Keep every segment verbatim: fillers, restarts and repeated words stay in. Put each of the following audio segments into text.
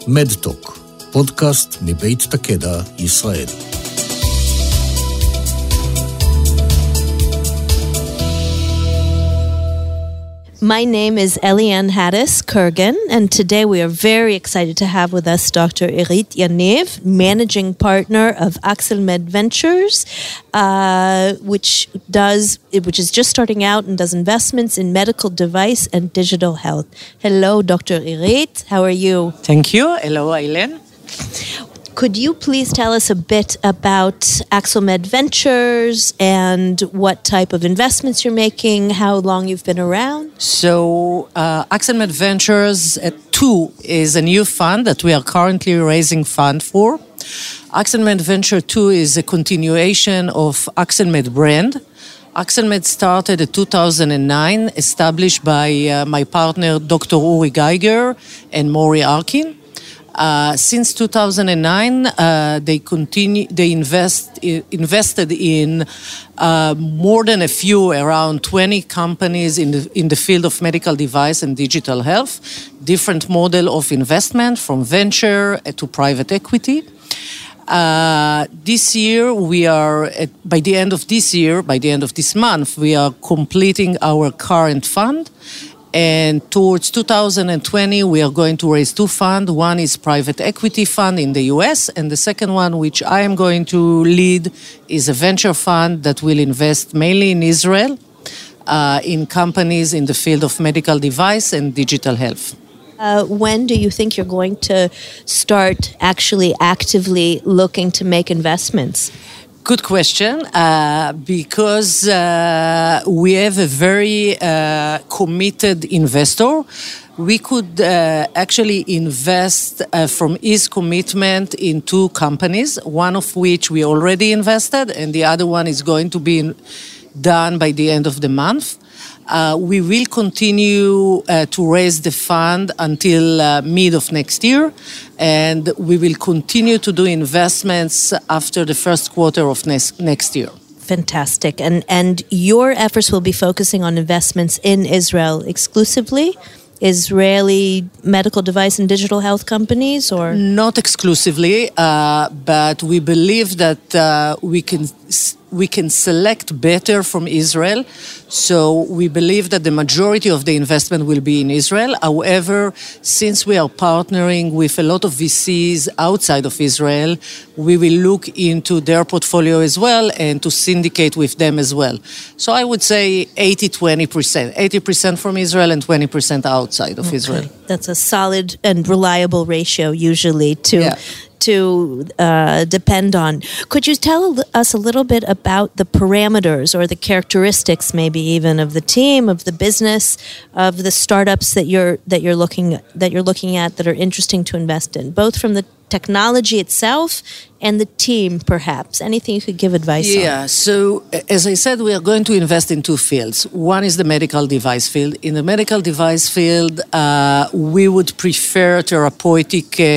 מדטוק, פודקאסט מבית תקדע, ישראל. My name is Eliane Hattis Kurgan, and today we are very excited to have with us Doctor Irit Yaniv, managing partner of Axelmed Ventures, uh, which does, which is just starting out and does investments in medical device and digital health. Hello, Doctor Irit. How are you? Thank you. Hello, Eliane. Could you please tell us a bit about Axelmed Ventures and what type of investments you're making, how long you've been around? So, uh, Axelmed Ventures two is a new fund that we are currently raising fund for. Axelmed Venture two is a continuation of Axelmed brand. Axelmed started in two thousand nine, established by uh, my partner, Doctor Uri Geiger and Mori Arkin. Uh, since two thousand nine, uh, they continue. They invest invested in uh, more than a few, around twenty companies in the in the field of medical device and digital health. Different model of investment, from venture to private equity. Uh, this year, we are at, by the end of this year, by the end of this month, we are completing our current fund. And towards two thousand twenty, we are going to raise two funds. One is private equity fund in the U S, and the second one, which I am going to lead, is a venture fund that will invest mainly in Israel, uh, in companies in the field of medical device and digital health. Uh, when do you think you're going to start actually actively looking to make investments? Good question, uh, because uh, we have a very uh, committed investor. We could uh, actually invest uh, from his commitment in two companies, one of which we already invested, and the other one is going to be in, done by the end of the month. Uh, we will continue uh, to raise the fund until uh, mid of next year, and we will continue to do investments after the first quarter of next, next year. Fantastic. And and your efforts will be focusing on investments in Israel exclusively? Israeli medical device and digital health companies, or? Not exclusively, uh, but we believe that uh, we can we can select better from Israel. So we believe that the majority of the investment will be in Israel. However, since we are partnering with a lot of V Cs outside of Israel, we will look into their portfolio as well and to syndicate with them as well. So I would say eighty twenty percent. eighty percent from Israel and twenty percent outside of okay. Israel. That's a solid and reliable ratio usually to... Yeah. to uh, depend on. Could you tell us a little bit about the parameters or the characteristics, maybe even of the team, of the business, of the startups that you're that you're looking that you're looking at that are interesting to invest in, both from the technology itself and the team, perhaps? Anything you could give advice yeah, on? Yeah, so as I said, we are going to invest in two fields. One is the medical device field. In the medical device field, uh, we would prefer therapeutic uh,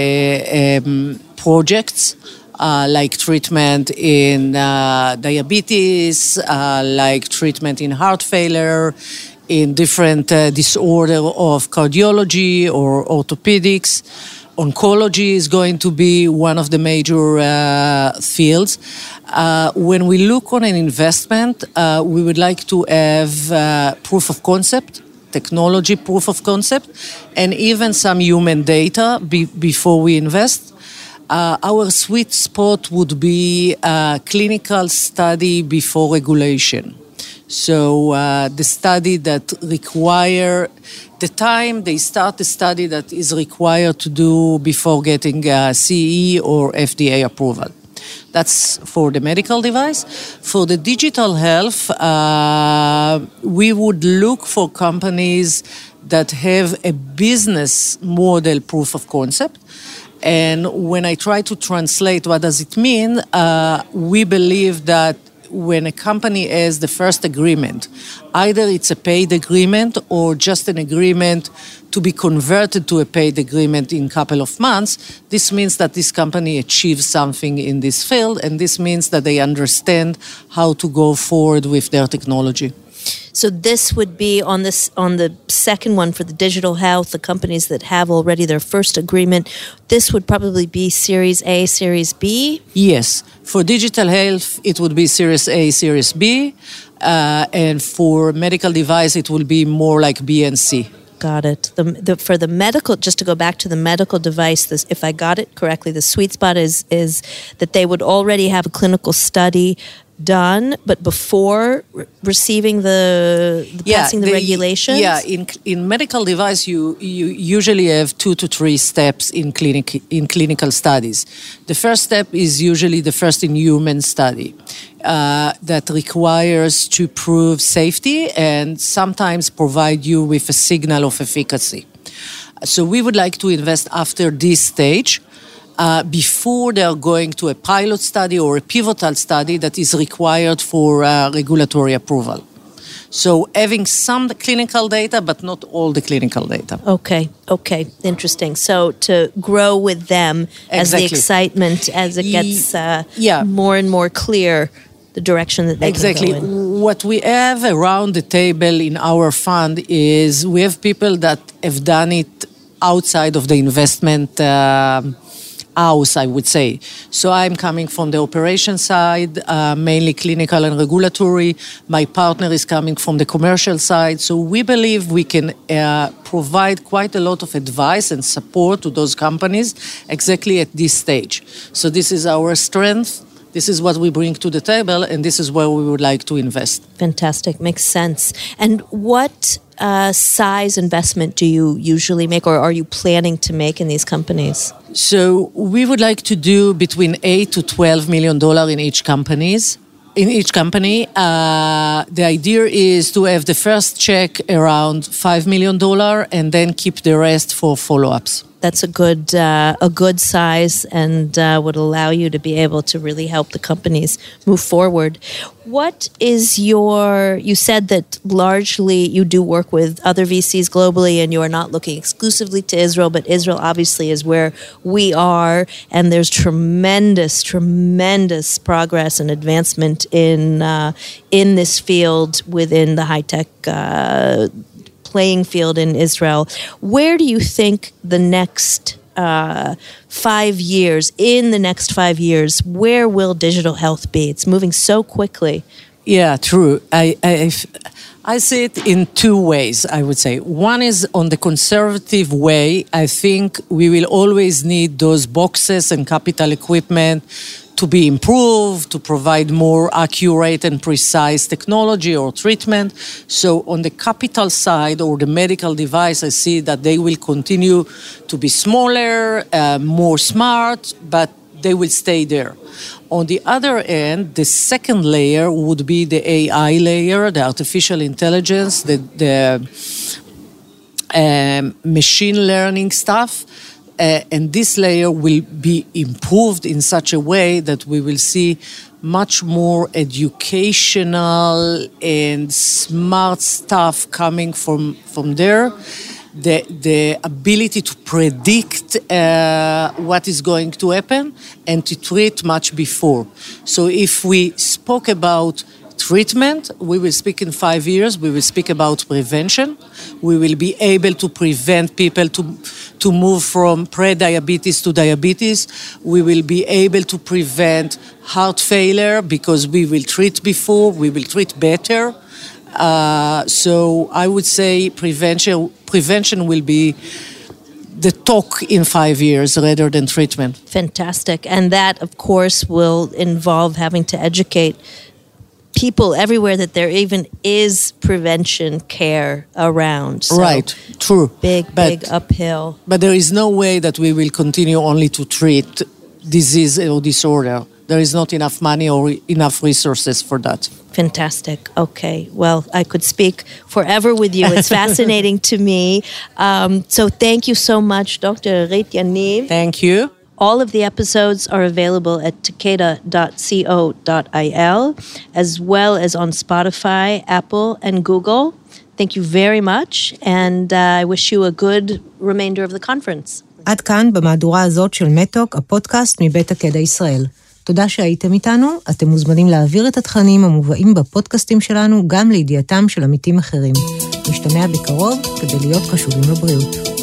um, projects, uh, like treatment in uh, diabetes, uh, like treatment in heart failure, in different uh, disorder of cardiology or orthopedics. Oncology is going to be one of the major uh, fields. Uh, when we look on an investment, uh, we would like to have uh, proof of concept, technology proof of concept, and even some human data be- before we invest. Uh, our sweet spot would be a clinical study before regulation. So uh, the study that require, the time they start the study that is required to do before getting a C E or F D A approval. That's for the medical device. For the digital health, uh, we would look for companies that have a business model proof of concept. And when I try to translate what does it mean, uh, we believe that when a company has the first agreement, either it's a paid agreement or just an agreement to be converted to a paid agreement in a couple of months, this means that this company achieves something in this field, and this means that they understand how to go forward with their technology. So this would be on this on the second one for the digital health, the companies that have already their first agreement. This would probably be Series A, Series B? Yes. For digital health, it would be Series A, Series B. Uh, and for medical device, it will be more like B and C. Got it. The, the, for the medical, just to go back to the medical device, this, if I got it correctly, the sweet spot is is that they would already have a clinical study done, but before re- receiving the, the yeah, passing the, the regulations? Yeah, in in medical device, you you usually have two to three steps in clinic in clinical studies. The first step is usually the first in human study uh, that requires to prove safety and sometimes provide you with a signal of efficacy. So we would like to invest after this stage. Uh, before they are going to a pilot study or a pivotal study that is required for uh, regulatory approval. So having some clinical data, but not all the clinical data. Okay, okay, interesting. So to grow with them as Exactly. the excitement, as it gets uh, yeah. more and more clear, the direction that they Exactly. can go in. What we have around the table in our fund is we have people that have done it outside of the investment uh, house, I would say. So I'm coming from the operation side, uh, mainly clinical and regulatory. My partner is coming from the commercial side. So we believe we can uh, provide quite a lot of advice and support to those companies exactly at this stage. So this is our strength. This is what we bring to the table, and this is where we would like to invest. Fantastic. Makes sense. And what uh, size investment do you usually make, or are you planning to make in these companies? So we would like to do between eight to twelve million dollars in each companies. In each company, uh, the idea is to have the first check around five million dollars and then keep the rest for follow-ups. That's a good uh, a good size and uh, would allow you to be able to really help the companies move forward. What is your, you said that largely you do work with other V Cs globally and you are not looking exclusively to Israel, but Israel obviously is where we are, and there's tremendous, tremendous progress and advancement in, uh, in this field within the high-tech uh playing field in Israel. Where do you think the next uh, five years, in the next five years, where will digital health be? It's moving so quickly. Yeah, true. I, I, I see it in two ways, I would say. One is on the conservative way. I think we will always need those boxes and capital equipment to be improved, to provide more accurate and precise technology or treatment. So on the capital side or the medical device, I see that they will continue to be smaller, uh, more smart, but they will stay there. On the other end, the second layer would be the A I layer, the artificial intelligence, the, the um, machine learning stuff. Uh, and this layer will be improved in such a way that we will see much more educational and smart stuff coming from, from there. The, the ability to predict uh, what is going to happen and to treat much before. So if we spoke about treatment, we will speak in five years, we will speak about prevention. We will be able to prevent people to, to move from pre-diabetes to diabetes. We will be able to prevent heart failure because we will treat before, we will treat better. Uh, so I would say prevention, prevention will be the talk in five years rather than treatment. Fantastic. And that, of course, will involve having to educate people everywhere that there even is prevention care around. So right, true. Big, but, big uphill. But there is no way that we will continue only to treat disease or disorder. There is not enough money or enough resources for that. Fantastic. Okay. Well, I could speak forever with you. It's fascinating to me. Um, so thank you so much, Doctor Irit Yaniv. Thank you. All of the episodes are available at takeda dot co dot il, as well as on Spotify, Apple, and Google. Thank you very much, and uh, I wish you a good remainder of the conference. עד כאן במהדורה הזאת של מתוק, הפודקאסט מבית תקדע ישראל. תודה שהייתם איתנו, אתם מוזמנים להעביר את התכנים המובאים בפודקאסטים שלנו גם לידיעתם של עמיתים אחרים. נשתמע בקרוב כדי להיות קשובים לבריאות.